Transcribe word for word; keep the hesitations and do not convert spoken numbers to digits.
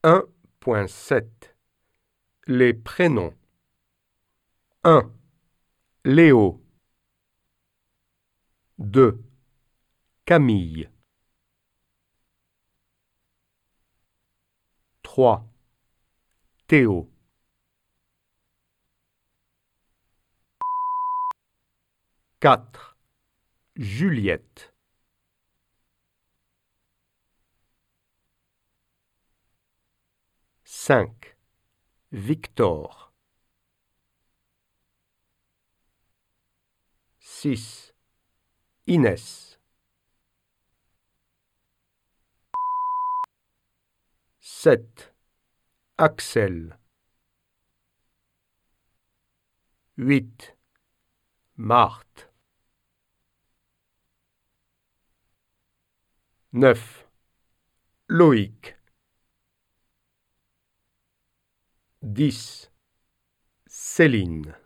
un point sept Les prénoms. un. Léo. deux. Camille. trois. Théo. quatre. Juliette. cinq. Victor. six. Inès. sept. Axel. huit. Marthe. neuf. Loïc. dix. Céline.